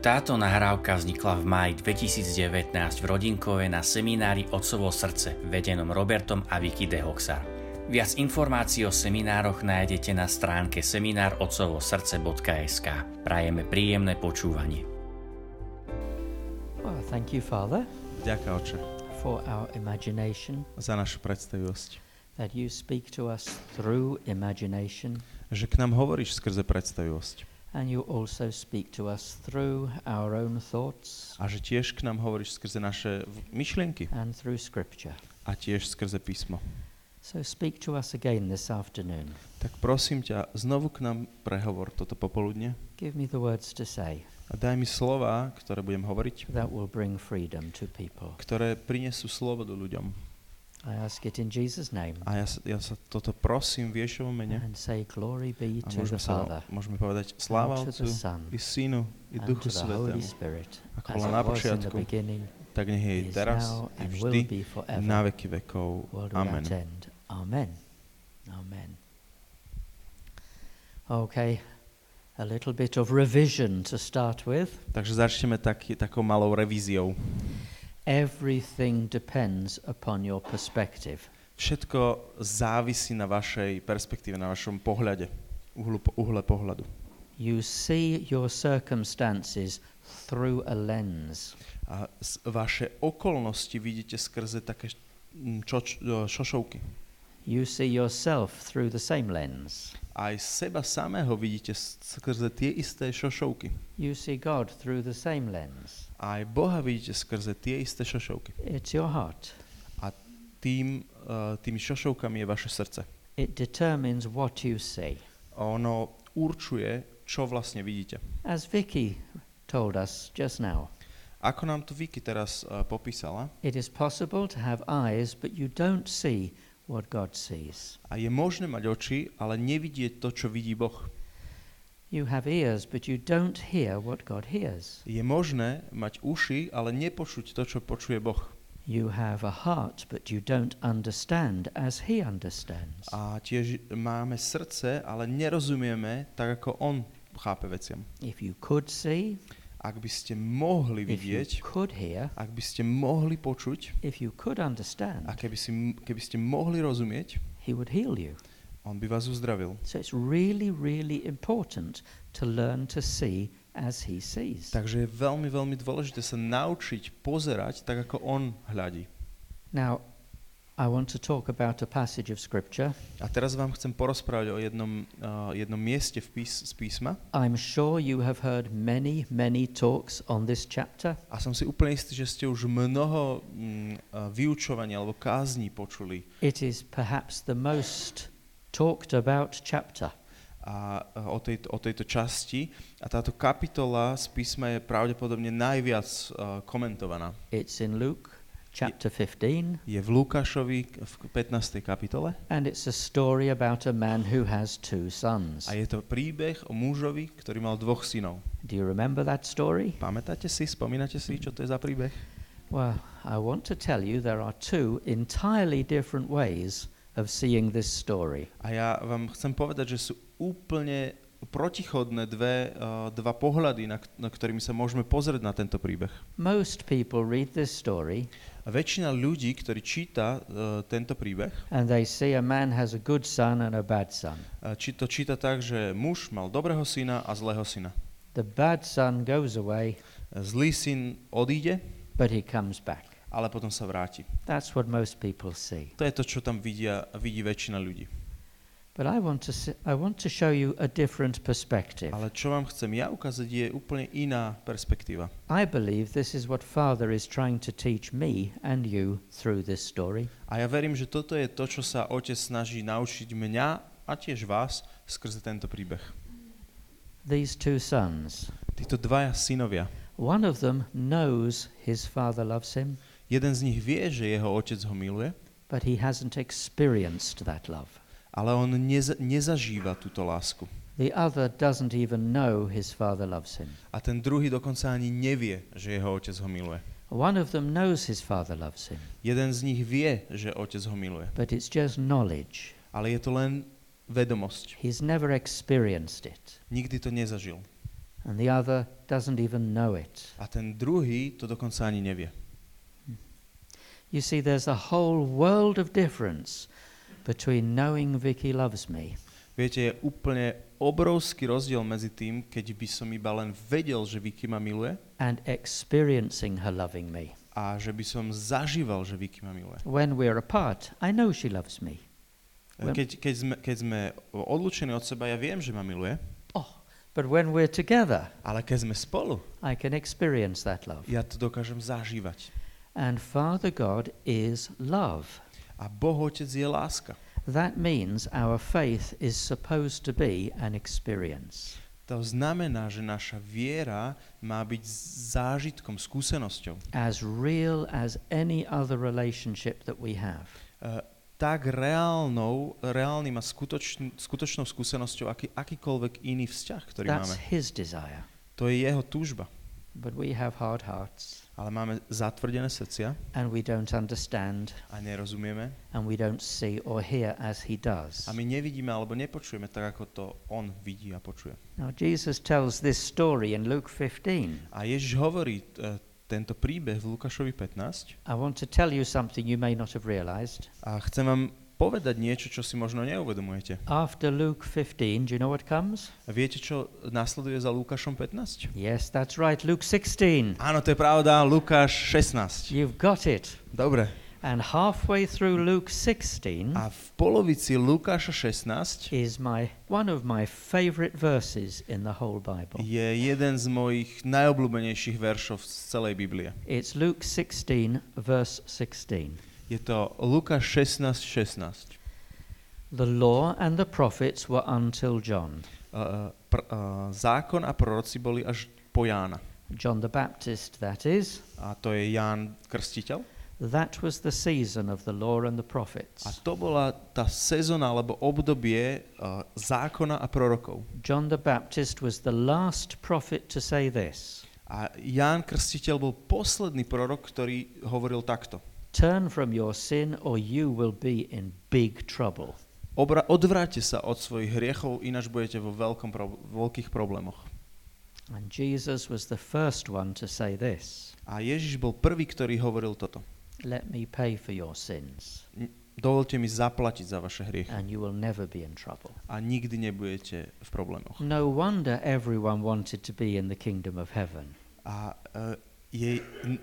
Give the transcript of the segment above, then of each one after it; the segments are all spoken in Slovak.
Táto nahrávka vznikla v máji 2019 v Rodinkove na seminári Otcovo srdce, vedenom Robertom a Vicky de Hoxar. Viac informácií o seminároch nájdete na stránke seminárotcovosrdce.sk. Prajeme príjemné počúvanie. Well, thank you, Father, Ďakujem, Oče, for our imagination, za našu predstavivosť. that you speak to us through imagination, Že k nám hovoríš skrze predstavivosť. and you also speak to us through our own thoughts A že tiež k nám hovoríš skrze naše myšlienky. and through Scripture. A tiež skrze písmo. So speak to us again this afternoon. Tak prosím ťa, znovu k nám prehovor toto popoludne. Give me the words to say A daj mi slova, ktoré budem hovoriť, that will bring freedom to people. ktoré prinesú slobodu ľuďom. I ask it in Jesus' name A ja sa toto prosím v Ježovom mene. and say glory be A to the Father, môžeme povedať sláva and to Otcu the Son, i Synu i and Duchu to the Holy Svätému. Spirit, Ako as bola it na was in the počiatku, beginning, tak nech je is teraz now, i and vždy will be forever. na veky vekov. World Amen. without end. Amen. Amen. Okay, a little bit of revision to start with. Takže začneme takou malou revíziou. Everything depends upon your perspective. Všetko závisí na vašej perspektíve, na vašom pohľade, uhle pohľadu. You see your circumstances through a lens. A vaše okolnosti vidíte skrze také šošovky. You see yourself through the same lens. Aj seba samého vidíte skrze tie isté šošovky. You see God through the same lens. Aj Boha vidíte skrze tie isté šošovky. It's your heart. Tými šošovkami je vaše srdce. It determines what you see. Ono určuje, čo vlastne vidíte. As Vicky told us just now, Ako nám to Vicky teraz popísala, it is possible to have eyes, but you don't see what God sees. a je možné mať oči, ale nevidieť to, čo vidí Boh. You have ears, but you don't hear what God hears. Je možné mať uši, ale nepočuť to, čo počuje Boh. You have a heart, but you don't understand as He understands. A tiež máme srdce, ale nerozumieme tak, ako On chápe veciam. If you could see, Ak by ste mohli if you vidieť, could hear, ak by ste mohli počuť, if you could understand, a keby ste mohli rozumieť, He would heal you. On by vás uzdravil. So it's really, really important to learn to see as He sees. Takže je veľmi, veľmi dôležité sa naučiť pozerať tak, ako On hľadí. Now, I want to talk about a passage of Scripture. A teraz vám chcem porozprávať o jednom mieste z písma. I'm sure you have heard many, many talks on this chapter. A som si úplne istý, že ste už mnoho vyučovania alebo kázní počuli. It is perhaps the most talked about chapter. A o tejto časti. A táto kapitola z písma je pravdepodobne najviac komentovaná. It's in Luke chapter 15. Je v Lukášovi v 15. kapitole. And it's a story about a man who has two sons. A je to príbeh o mužovi, ktorý mal dvoch synov. Do you remember that story? Pamätáte si, spomínate si, čo to je za príbeh? Well, I want to tell you there are two entirely different ways of seeing this story. A ja vám chcem povedať, že sú úplne protichodné dva pohľady, na ktorými sa môžeme pozrieť na tento príbeh. Most people read this story A väčšina ľudí, ktorí číta tento príbeh, and they see a man has a good son and a bad son. to číta tak, že muž mal dobrého syna a zlého syna. The bad son goes away, Zlý syn odíde, but he comes back. ale potom sa vráti. That's what most people see. To je to, čo tam vidí väčšina ľudí. But I want to show you a different perspective. Ale čo vám chcem ja ukázať, je úplne iná perspektíva. I believe this is what Father is trying to teach me and you through this story. A ja verím, že toto je to, čo sa Otec snaží naučiť mňa a tiež vás skrze tento príbeh. These two sons, Títo dvaja synovia. one of them knows his father loves him, Jeden z nich vie, že jeho otec ho miluje, but he hasn't experienced that love. ale on nezažíva túto lásku. The other doesn't even know his father loves him. A ten druhý dokonca ani nevie, že jeho otec ho miluje. One of them knows his father loves him, Jeden z nich vie, že otec ho miluje, but it's just knowledge. ale je to len vedomosť. He's never experienced it. Nikdy to nezažil. and the other doesn't even know it. A ten druhý to dokonca ani nevie. You see, there's a whole world of difference between knowing Vicky loves me Viete, je úplne obrovský rozdiel medzi tým, keď by som iba len vedel, že Vicky ma miluje and experiencing her loving me. a že by som zažíval, že Vicky ma miluje. When we're apart, I know she loves me. Keď sme odlúčení od seba, ja viem, že ma miluje, But when we're together, ale keď sme spolu, I can experience that love. ja to dokážem zažívať. And Father God is love. A Boh Otec je láska. That means our faith is supposed to be an experience. To znamená, že naša viera má byť zážitkom, skúsenosťou. As real as any other relationship that we have. Tak reálnym a skutočnou skúsenosťou, akýkoľvek iný vzťah, ktorý máme. That's his desire. To je jeho túžba. But we have hard hearts. Ale máme zatvrdené srdcia. And we don't understand. A nerozumieme. And we don't see or hear as he does. A my nevidíme alebo nepočujeme tak, ako to on vidí a počuje. Now Jesus tells this story in Luke 15. A Ježiš hovorí tento príbeh v Lukášovi 15. I want to tell you something you may not have realized. A chcem vám povedať niečo, čo si možno neuvedomujete. After Luke 15, do you know what comes? A viete, čo nasleduje za Lukášom 15? Yes, that's right, Luke 16. Áno, to je pravda, Lukáš 16. You've got it. Dobre. And halfway through Luke 16 A v polovici Lukáša 16 is one of my favorite verses in the whole Bible. je jeden z mojich najobľúbenejších veršov z celej Biblie. It's Luke 16, verse 16. Je to Lukáš 16:16. The law and the prophets were until John. Zákon a proroci boli až po Jána. John the Baptist, that is. A to je Ján Krstiteľ. That was the season of the law and the prophets. A to bola tá sezóna alebo obdobie zákona a prorokov. John the Baptist was the last prophet to say this. A Ján Krstiteľ bol posledný prorok, ktorý hovoril takto. Turn from your sin or you will be in big trouble. Odvráťte sa od svojich hriechov, ináč budete vo veľkých problémoch. And Jesus was the first one to say this. A Ježiš bol prvý, ktorý hovoril toto. Let me pay for your sins. Dovolte mi zaplatiť za vaše hriechy. And you will never be in trouble. A nikdy nebudete v problémoch. No wonder everyone wanted to be in the kingdom of heaven. A je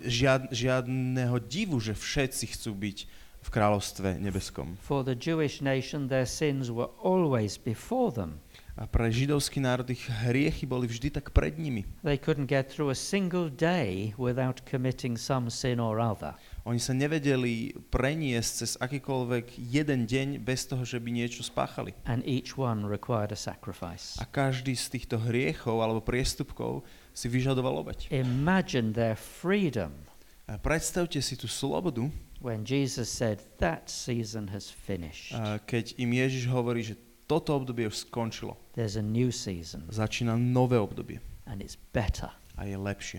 žiadneho divu, že všetci chcú byť v kráľovstve nebeskom. For the Jewish nation their sins were always before them. A pre židovský národ ich hriechy boli vždy tak pred nimi. They couldn't get through a single day without committing some sin or other. Oni sa nevedeli preniesť cez akýkoľvek jeden deň bez toho, že by niečo spáchali. And each one required a sacrifice. A každý z týchto hriechov alebo priestupkov si vyžadoval obeť. Imagine their freedom. A predstavte si tú slobodu, when Jesus said that season has finished. Keď im Ježiš hovorí, že toto obdobie už skončilo. There's a new season. Začína nové obdobie. And it's better. A je lepšie.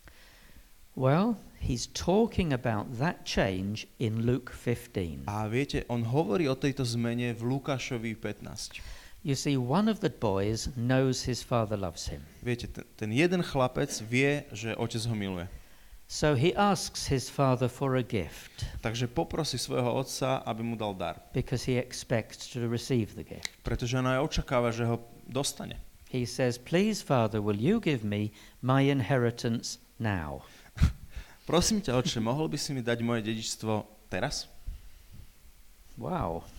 Well, he's talking about that change in Luke 15. A viete, on hovorí o tejto zmene v Lukášovi 15. You see, one of the boys knows his father loves him. Viete, ten jeden chlapec vie, že otec ho miluje. So he asks his father for a gift. Takže poprosí svojho otca, aby mu dal dar. Because he expects to receive the gift. Pretože on aj očakáva, že ho dostane. He says, "Please, father, will you give me my inheritance now?" Prosím ťa, otče, mohol by si mi dať moje dedičstvo teraz? Wow.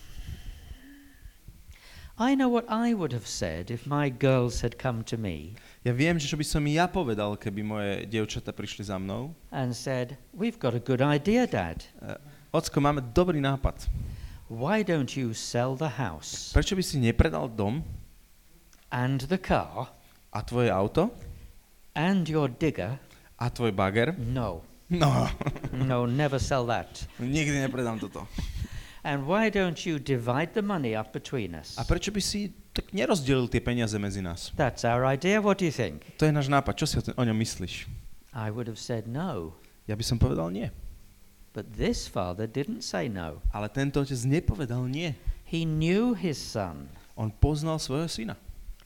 I know what I would have said if my girls had come to me. Ja viem, že čo by som ja povedal, keby moje dievčatá prišli za mnou. And said, "We've got a good idea, Dad. Ocko, máme dobrý nápad. Why don't you sell the house Prečo by si nepredal dom and the car a tvoje auto and your digger?" a tvoj bager? No. No. No, never sell that. Nikdy nepredám toto. And why don't you divide the money up between us? A prečo by si tak nerozdelil tie peniaze medzi nás? That's our idea. What do you think? To je náš nápad. Čo si o ňom myslíš? I would have said no. Ja by som povedal nie. But this father didn't say no. Ale tento otec nepovedal nie. He knew his son. On poznal svojho syna.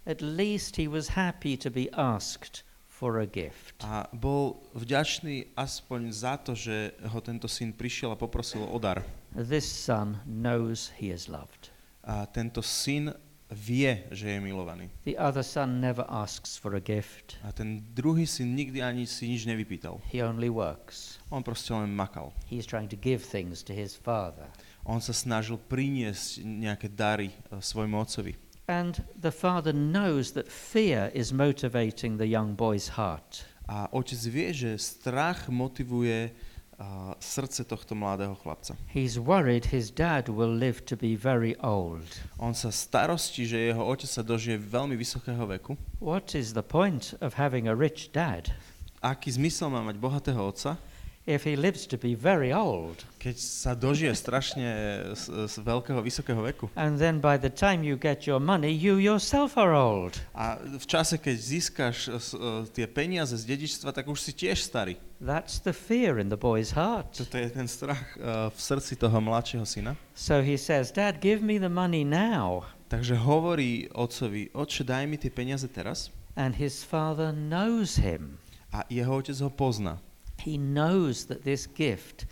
At least he was happy to be asked for a gift. A bol vďačný aspoň za to, že ho tento syn prišiel a poprosil o dar. This son knows he is loved. A tento syn vie, že je milovaný. The other son never asks for a gift. A ten druhý syn nikdy ani si nič nevypýtal. He only works. On proste len makal. He's trying to give things to his father. On sa snažil priniesť nejaké dary svojmu otcovi. And the father knows that fear is motivating the young boy's heart. A otec vie, že strach motivuje srdce tohto mladého chlapca. He's worried his dad will live to be very old. On sa starostí, že jeho otec sa dožije veľmi vysokého veku. What is the point of having a rich dad Aký zmysel má mať bohatého otca, if he lives to be very old? keď sa dožije strašne z veľkého, vysokého veku? And then by the time you get your money, you yourself are old. A v čase, keď získaš tie peniaze z dedičstva, tak už si tiež starý. That's the fear in the boy's heart. Toto je ten strach v srdci toho mladšieho syna. So he says, Dad, give me the money now. Takže hovorí otcovi, otče, daj mi tie peniaze teraz. And his father knows him. A jeho otec ho pozná. He knows that this gift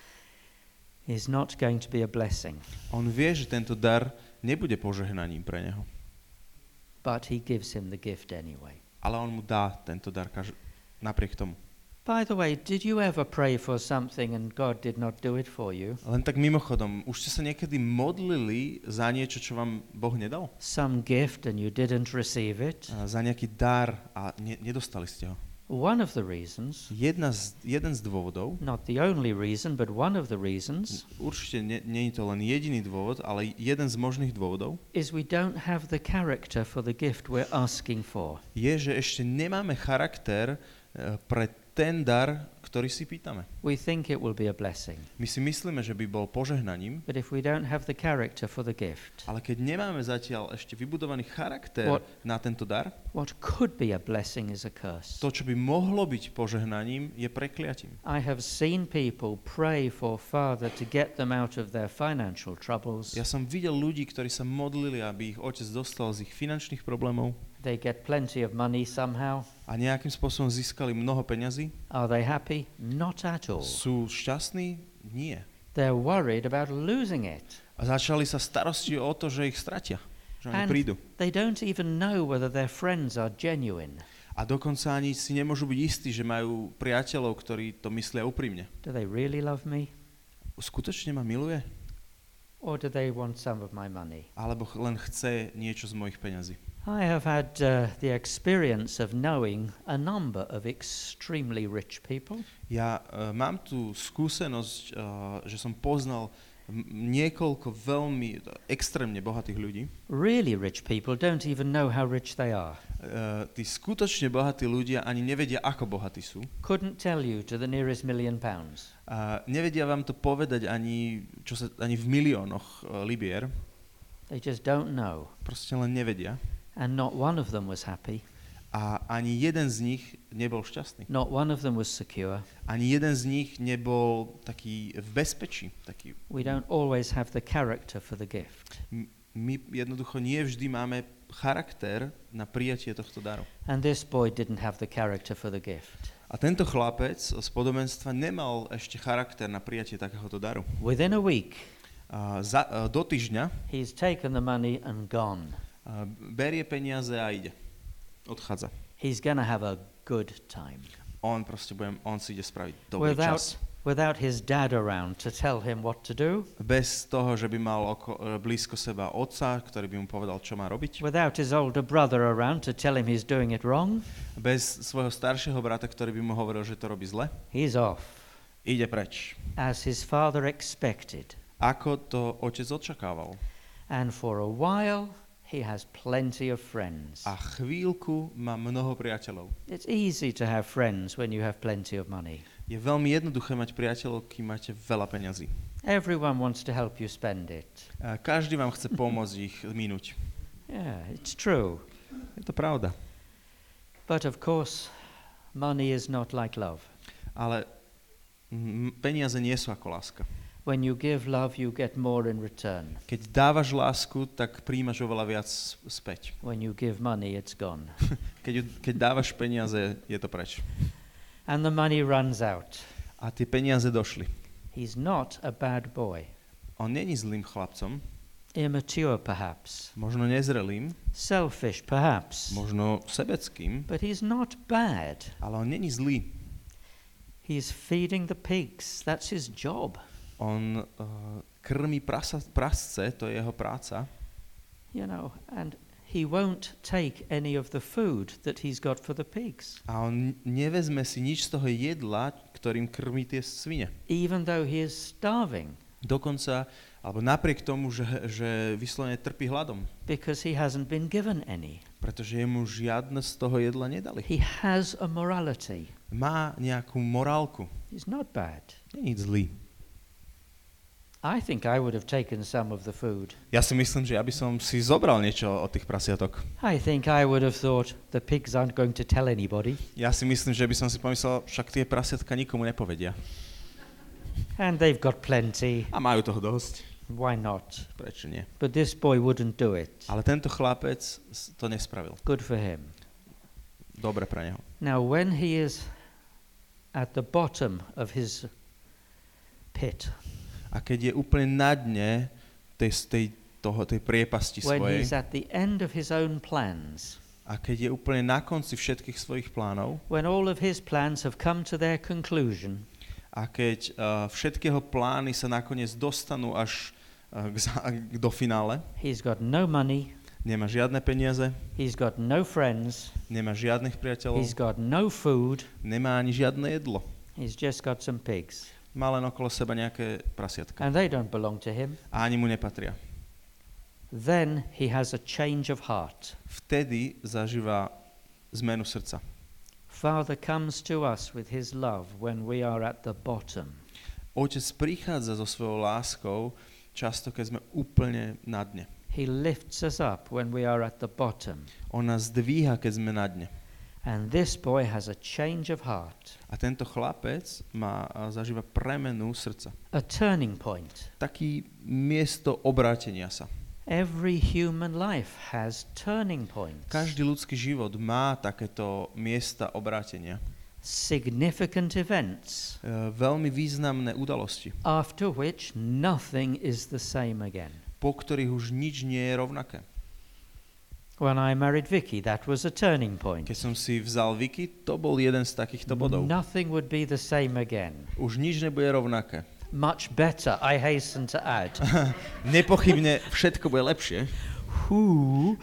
is not going to be a blessing. On vie, že tento dar nebude požehnaním pre neho. But he gives him the gift anyway. Ale on mu dá tento dar napriek tomu. By the way, did you ever pray for something and God did not do it for you? Len tak mimochodom, už ste sa niekedy modlili za niečo, čo vám Boh nedal? Some gift and you didn't receive it? Za nejaký dar a nedostali ste ho? One of the reasons, Jeden z dôvodov, not the only reason, but one of the reasons, určite nie je to len jediný dôvod, ale jeden z možných dôvodov, is we don't have the character for the gift we're asking for. je, že ešte nemáme charakter pre ten dar, ktorý si pýtame. We think it will be a blessing, My si myslíme, že by bol požehnaním, but if we don't have the character for the gift, ale keď nemáme zatiaľ ešte vybudovaný charakter na tento dar, what could be a blessing is a curse. to, čo by mohlo byť požehnaním, je prekliatím. I have seen people pray for Father to get them out of their financial troubles. Ja som videl ľudí, ktorí sa modlili, aby ich otec dostal z ich finančných problémov They get plenty of money somehow. a nejakým spôsobom získali mnoho peňazí. Are they happy? Not at all. Sú šťastní? Nie. They're worried about losing it. A začali sa starosti o to, že ich stratia, že oni And prídu. they don't even know whether their friends are genuine. A dokonca ani si nemôžu byť istí, že majú priateľov, ktorí to myslia úprimne. Do they really love me? Skutočne ma miluje? Or do they want some of my money? Alebo len chce niečo z mojich peňazí? I have had the experience of knowing a number of extremely rich people. Ja mám tú skúsenosť, že som poznal niekoľko veľmi extrémne bohatých ľudí. Really rich people don't even know how rich they are. Tí skutočne bohatí ľudia ani nevedia, ako bohatí sú. Couldn't tell you to the nearest £1,000,000. Nevedia vám to povedať ani v miliónoch libier. They just don't know. Proste len nevedia. And not one of them was happy. A ani jeden z nich nebol šťastný. Not one of them was secure. Ani jeden z nich nebol taký v bezpečí. Taký. We don't always have the character for the gift. My jednoducho nie vždy máme charakter na prijatie tohto daru. And this boy didn't have the character for the gift. A tento chlapec z podobenstva nemal ešte charakter na prijatie takéhoto daru. Within a week, Do týždňa he's taken the money and gone. Berie peniaze a ide. Odchádza. He's going to have a good time. On si ide spraviť dobrý čas. Without his dad around to tell him what to do. Bez toho, že by mal blízko seba otca, ktorý by mu povedal, čo má robiť. Without his older brother around to tell him he's doing it wrong. Bez svojho staršieho brata, ktorý by mu hovoril, že to robí zle. He's off. Ide preč. As his father expected. Ako to otec očakával. And for a while he has plenty of friends. A chvíľku má mnoho priateľov. It's easy to have friends when you have plenty of money. Je veľmi jednoduché mať priateľov, kým máte veľa peňazí. Everyone wants to help you spend it. Každý vám chce pomôcť ich minúť. Yeah, it's true. Je to pravda. But of course, money is not like love. Ale peniaze nie sú ako láska. When you give love, you get more in return. Keď dávaš lásku, tak príjmaš oveľa viac späť. When you give money, it's gone. Keď dávaš peniaze, je to preč. And the money runs out. A tie peniaze došli. He's not a bad boy. On není zlým chlapcom, Immature, perhaps. možno nezrelým, Selfish, perhaps. možno sebeckým, But he's not bad. ale on není zlý. He's feeding the pigs. That's his job. On krmí prasce, to je jeho práca. You know, and he won't take any of the food that he's got for the pigs. A on nevezme si nič z toho jedla, ktorým krmí tie svine. Even though he is starving. Dokonca, alebo napriek tomu, že vyslovene trpí hladom. Because he hasn't been given any. Pretože jemu žiadne z toho jedla nedali. He has a morality. Má nejakú morálku. He's not bad. Nie je zlý. I think I would have taken some of the food. Ja si myslím, že ja by som si zobral niečo od tých prasiatok. I think I would have thought the pigs aren't going to tell anybody. Ja si myslím, že by som si pomyslel, však tie prasiatka nikomu nepovedia. And they've got plenty. A majú toho dosť. Why not? Prečo nie? But this boy wouldn't do it. Ale tento chlapec to nespravil. Good for him. Dobre pre neho. Now, when he is at the bottom of his pit, A keď je úplne na dne tej priepasti when svojej, he's at the end of his own plans, a keď je úplne na konci všetkých svojich plánov, when all of his plans have come to their conclusion, a keď všetky jeho plány sa nakoniec dostanú až do finále, he's got no money, nemá žiadne peniaze, he's got no friends, nemá žiadnych priateľov, he's got no food, nemá ani žiadne jedlo. he's just got some pigs. Má len okolo seba nejaké prasiatka. And they don't belong to him. A ani mu nepatria. Then he has a change of heart. Vtedy zažíva zmenu srdca. Father comes to us with his love when we are at the bottom. Otec prichádza so svojou láskou často, keď sme úplne na dne. He lifts us up when we are at the bottom. On nás dvíha, keď sme na dne. And this boy has a change of heart. A tento chlapec zažíva premenu srdca. A turning point. Taký miesto obrátenia sa. Every human life has turning points. Každý ľudský život má takéto miesta obrátenia. Significant events. Veľmi významné udalosti, After which nothing is the same again. po ktorých už nič nie je rovnaké. When I married Vicky, that was a turning point. Keď som si vzal Vicky, to bol jeden z takýchto bodov. Nothing would be the same again. Už nič nebude rovnaké. Much better, I hasten to add. Nepochybne všetko bude lepšie. Who?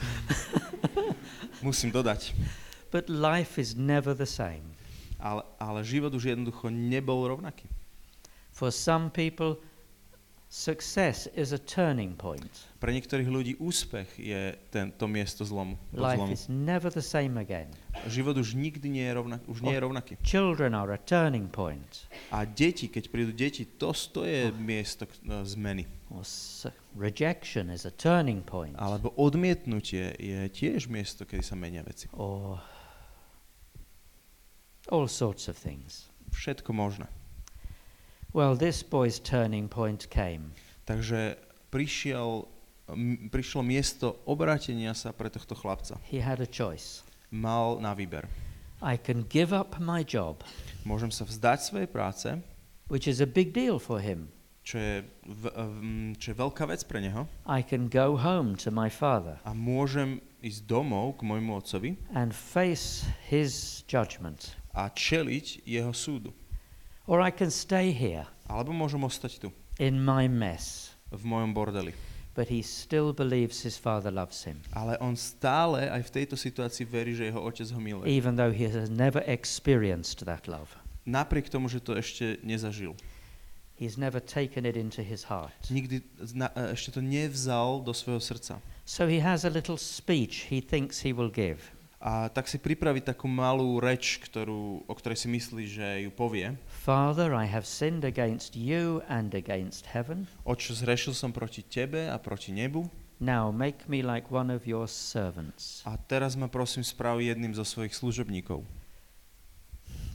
Musím dodať. But life is never the same. Ale život už jednoducho nebol rovnaký. For some people, success is a turning point. Pre niektorých ľudí úspech je to miesto zlomu. Life is never the same again. Život už nikdy nie je rovnaký. Children are a turning point. A deti, keď prídu deti, to je miesto zmeny. Or rejection is a turning point. Alebo odmietnutie je tiež miesto, kedy sa menia veci. Or all sorts of things. Všetko možné. Well, this boy's turning point came. Takže prišlo miesto obrátenia sa pre tohto chlapca. He had a choice. Mal na výber. I can give up my job, Môžem sa vzdať svojej práce, which is a big deal for him. čo je veľká vec pre neho. I can go home to my father A môžem ísť domov k môjmu otcovi and face his judgment. a čeliť jeho súdu. Or I can stay here Alebo môžem ostať tu, in my mess. v mojom bordeli. But he still believes his father loves him, Ale on stále aj v tejto situácii verí, že jeho otec ho miluje. even though he has never experienced that love. Napriek tomu, že to ešte nezažil. He's never taken it into his heart. Nikdy ešte to nevzal do svojho srdca. So he has a little speech he thinks he will give. A tak si pripraví takú malú reč, o ktorej si myslí, že ju povie. Father, I have sinned against you and against heaven. Oče, zhrešil som proti tebe a proti nebu. Now make me like one of your servants. A teraz ma prosím správ jedným zo svojich služobníkov.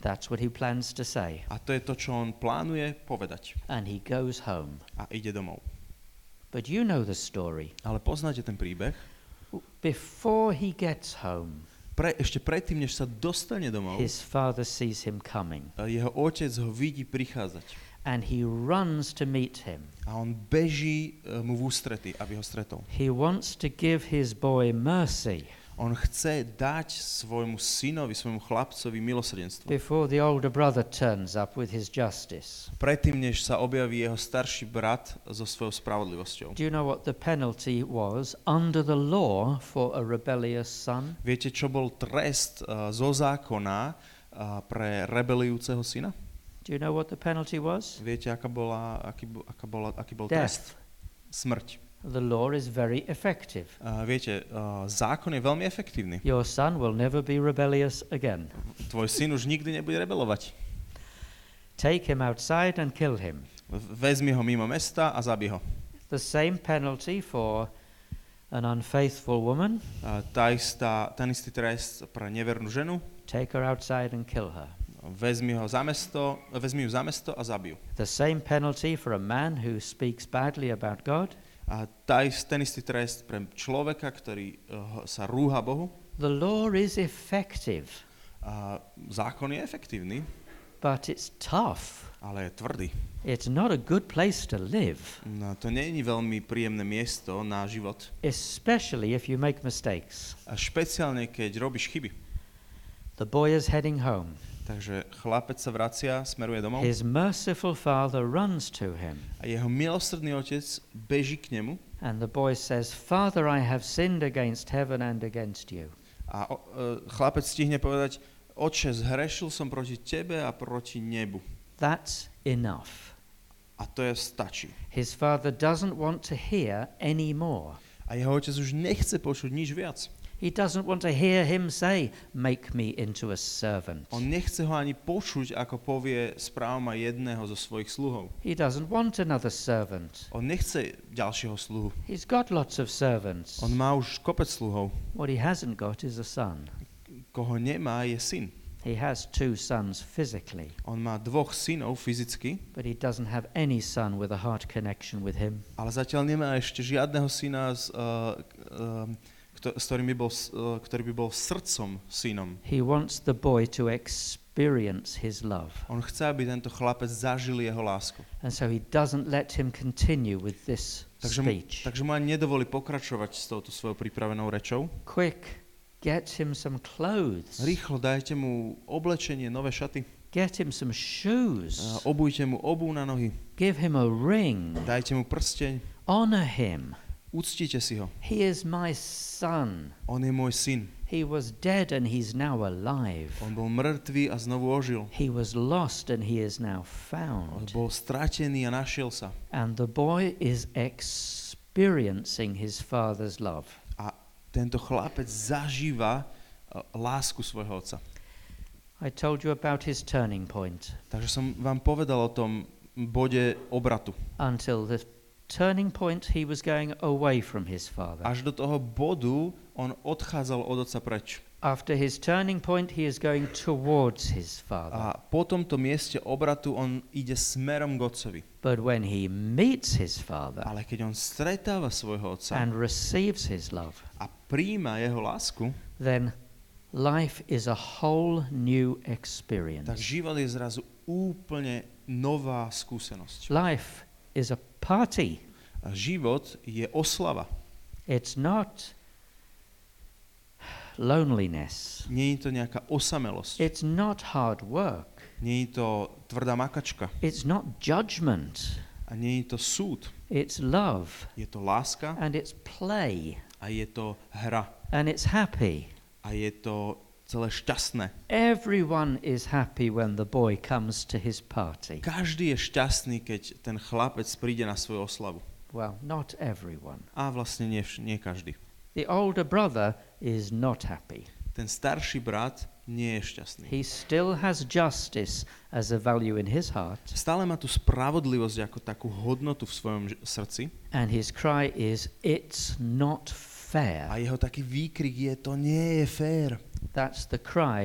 That's what he plans to say. A to je to, čo on plánuje povedať. And he goes home. A ide domov. But you know the story. Ale poznáte ten príbeh? Before he gets home, Ešte predtým, než sa dostane domov, his father sees him coming. Jeho otec ho vidí prichádzať. And he runs to meet him. A on beží mu v ústrety, aby ho stretol. He wants to give his boy mercy. On chce dať svojmu synovi, svojmu chlapcovi milosrdenstvo. Before the older brother turns up with his justice. Predtým, než sa objaví jeho starší brat so svojou spravodlivosťou. Do you know what the penalty was under the law for a rebellious son? Viete, čo bol trest zo zákona pre rebelujúceho syna? Do you know what the penalty was? Viete, aký bol Death. trest? Smrť. The law is very effective. Viete, zákon je veľmi efektívny. Your son will never be rebellious again. Tvoj syn už nikdy nebude rebelovať. Take him outside and kill him. Vezmi ho mimo mesta a zabij ho. The same penalty for an unfaithful woman. Ten istý trest pre nevernú ženu. Take her outside and kill her. Vezmi ju za mesto a zabij ju. The same penalty for a man who speaks badly about God. A ten istý trest pre človeka, ktorý sa rúha Bohu. The law is effective. Zákon je efektívny, but it's tough. Ale je tvrdý. It's not a good place to live. No, to nie je veľmi príjemné miesto na život. Especially if you make mistakes. A špeciálne, keď robíš chyby. The boy is heading home. Takže chlapec sa vracia, smeruje domov. His merciful father runs to him. A jeho milosrdný otec beží k nemu. And the boy says, "Father, I have sinned against heaven and against you." A chlapec stihne povedať, Otče, zhrešil som proti tebe a proti nebu. That's enough. A to je stačí. His father doesn't want to hear any more. A jeho otec už nechce počuť nič viac. He doesn't want to hear him say, "Make me into a servant." On nechce ho ani počuť, ako povie, správ ma jedného zo svojich sluhov. He doesn't want another servant. On nechce ďalšieho sluhu. He's got lots of servants. On má už kopec sluhov. What he hasn't got is a son. Koho nemá, je syn. He has 2 sons physically. On má 2 synov fyzicky, but he doesn't have any son with a heart connection with him. Ale zatiaľ nemá ešte žiadneho syna, ktorý by bol srdcom synom. He wants the boy to experience his love. On chce, aby tento chlapec zažil jeho lásku. And so he doesn't let him continue with this speech. Takže mu ani nedovolí pokračovať s touto svojou pripravenou rečou. Quick, get him some clothes. Rýchlo dajte mu oblečenie, nové šaty. Get him some shoes. Obujte mu obuv na nohy. Give him a ring. Dajte mu prsteň. Honor him. Uctite si ho. He is my son. On je môj syn. He was dead and he's now alive. On bol mŕtvý a znovu ožil. He was lost and he is now found. On bol stratený a našiel sa. And the boy is experiencing his father's love. A tento chlapec zažíva lásku svojho otca. I told you about his turning point. Takže som vám povedal o tom bode obratu. Until the turning point he was going away from his father. Až do toho bodu on odchádzal od otca preč. After his turning point he is going towards his father. A po tomto mieste obratu on ide smerom k otcovi. But when he meets his father, ale keď on stretáva svojho otca and receives his love, a prijíma jeho lásku, then life is a whole new experience. Tak život je zrazu úplne nová skúsenosť. Life is a party. A život je oslava. It's not loneliness. Nie je to nejaká osamelosť. It's not hard work. Nie je to tvrdá makačka. It's not judgment. A nie je to súd. It's love. Je to láska. And it's play. A je to hra. And it's happy. A je to celé šťastné. Everyone is happy when the boy comes to his party. Každý je šťastný, keď ten chlapec príde na svoju oslavu. Well, not everyone. A vlastne nie každý. The older brother is not happy. Ten starší brat nie je šťastný. He still has justice as a value in his heart. Stále má tú spravodlivosť ako takú hodnotu v svojom srdci. And his cry is, "It's not fair." A jeho taký výkrik je, to nie je fér. That's the cry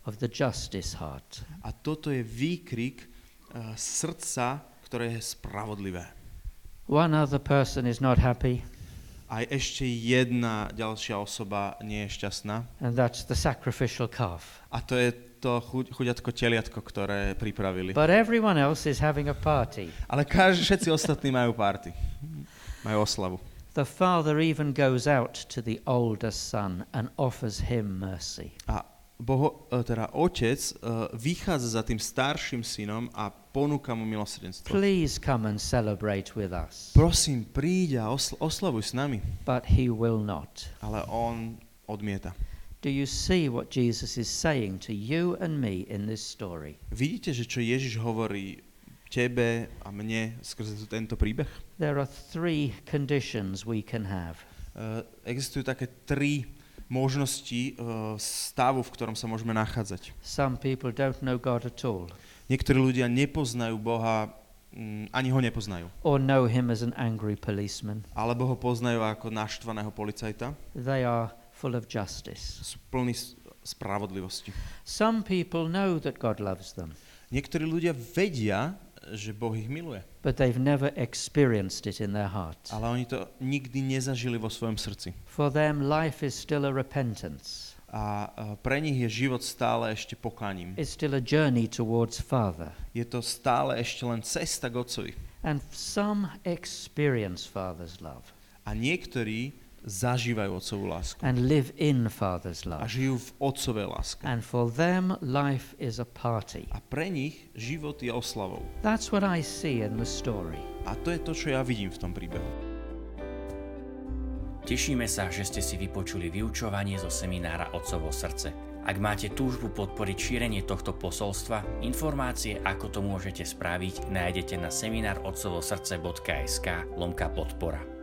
of the justice heart. A toto je výkrik srdca, ktoré je spravodlivé. One other person is not happy, Aj ešte jedna ďalšia osoba nie je šťastná. and that's the sacrificial calf. A to je to chuďatko teliatko, ktoré pripravili. But everyone else is having a party. Ale všetci ostatní majú party. Majú oslavu. The father even goes out to the older son and offers him mercy. A otec vychádza za tým starším synom a ponúka mu milosrdenstvo. Please come and celebrate with us. Prosím, príď a oslavuj s nami. But he will not. Ale on odmieta. Do you see what Jesus is saying to you and me in this story? Vidíte, že čo Ježiš hovorí tebe a mne skrze tento príbeh? There are three conditions we can have. Existujú také tri možnosti stavu, v ktorom sa môžeme nachádzať. Some people don't know God at all, Niektorí ľudia nepoznajú Boha, ani ho nepoznajú. or know him as an angry policeman. Alebo ho poznajú ako naštvaného policajta. They are full of justice. Sú plní spravodlivosti. Some people know that God loves them, Niektorí ľudia vedia, že Boh ich miluje. but they've never experienced it in their heart. Ale oni to nikdy nezažili vo svojom srdci. For them, life is still a repentance. A pre nich je život stále ešte pokáním. It's still a journey towards Father. Je to stále ešte len cesta k Otcovi. And some experience Father's love A niektorí zažívajú Otcovú lásku. and live in Father's A love. žijú v Otcovej láske. And for them, life is a party. A pre nich život je oslavou. That's what I see in the story. A to je to, čo ja vidím v tom príbehu. Tešíme sa, že ste si vypočuli vyučovanie zo seminára Otcovo srdce. Ak máte túžbu podporiť šírenie tohto posolstva, informácie, ako to môžete spraviť, nájdete na seminárotcovosrdce.sk/podpora.